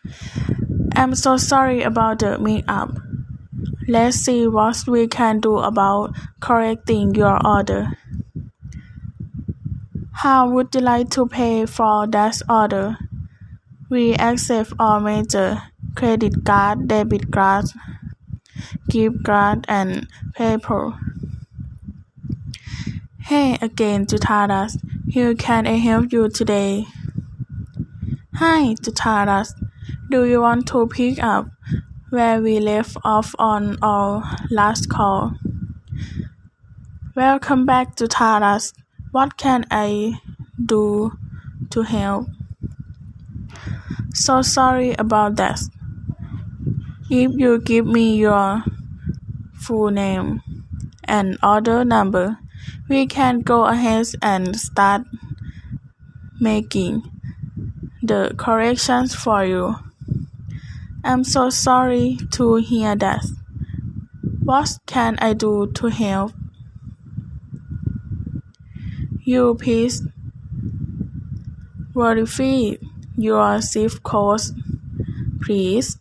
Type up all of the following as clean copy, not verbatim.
I'm so sorry about the mix-up. Let's see what we can do about correcting your order. How would you like to pay for that order? We accept all major credit card, debit card, gift card, and PayPal. Hey again, Jutaras. How can I help you today? Hi, Jutaras. Do you want to pick up where we left off on our last call? Welcome back, Jutaras. What can I do to help? So sorry about that. If you give me your full name and order number, we can go ahead and start making the corrections for you. I'm so sorry to hear that. What can I do to help? You please verify your zip code, please.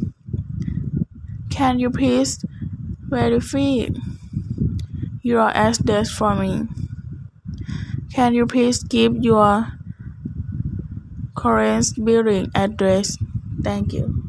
Can you please verify your address for me? Can you please give your current billing address? Thank you.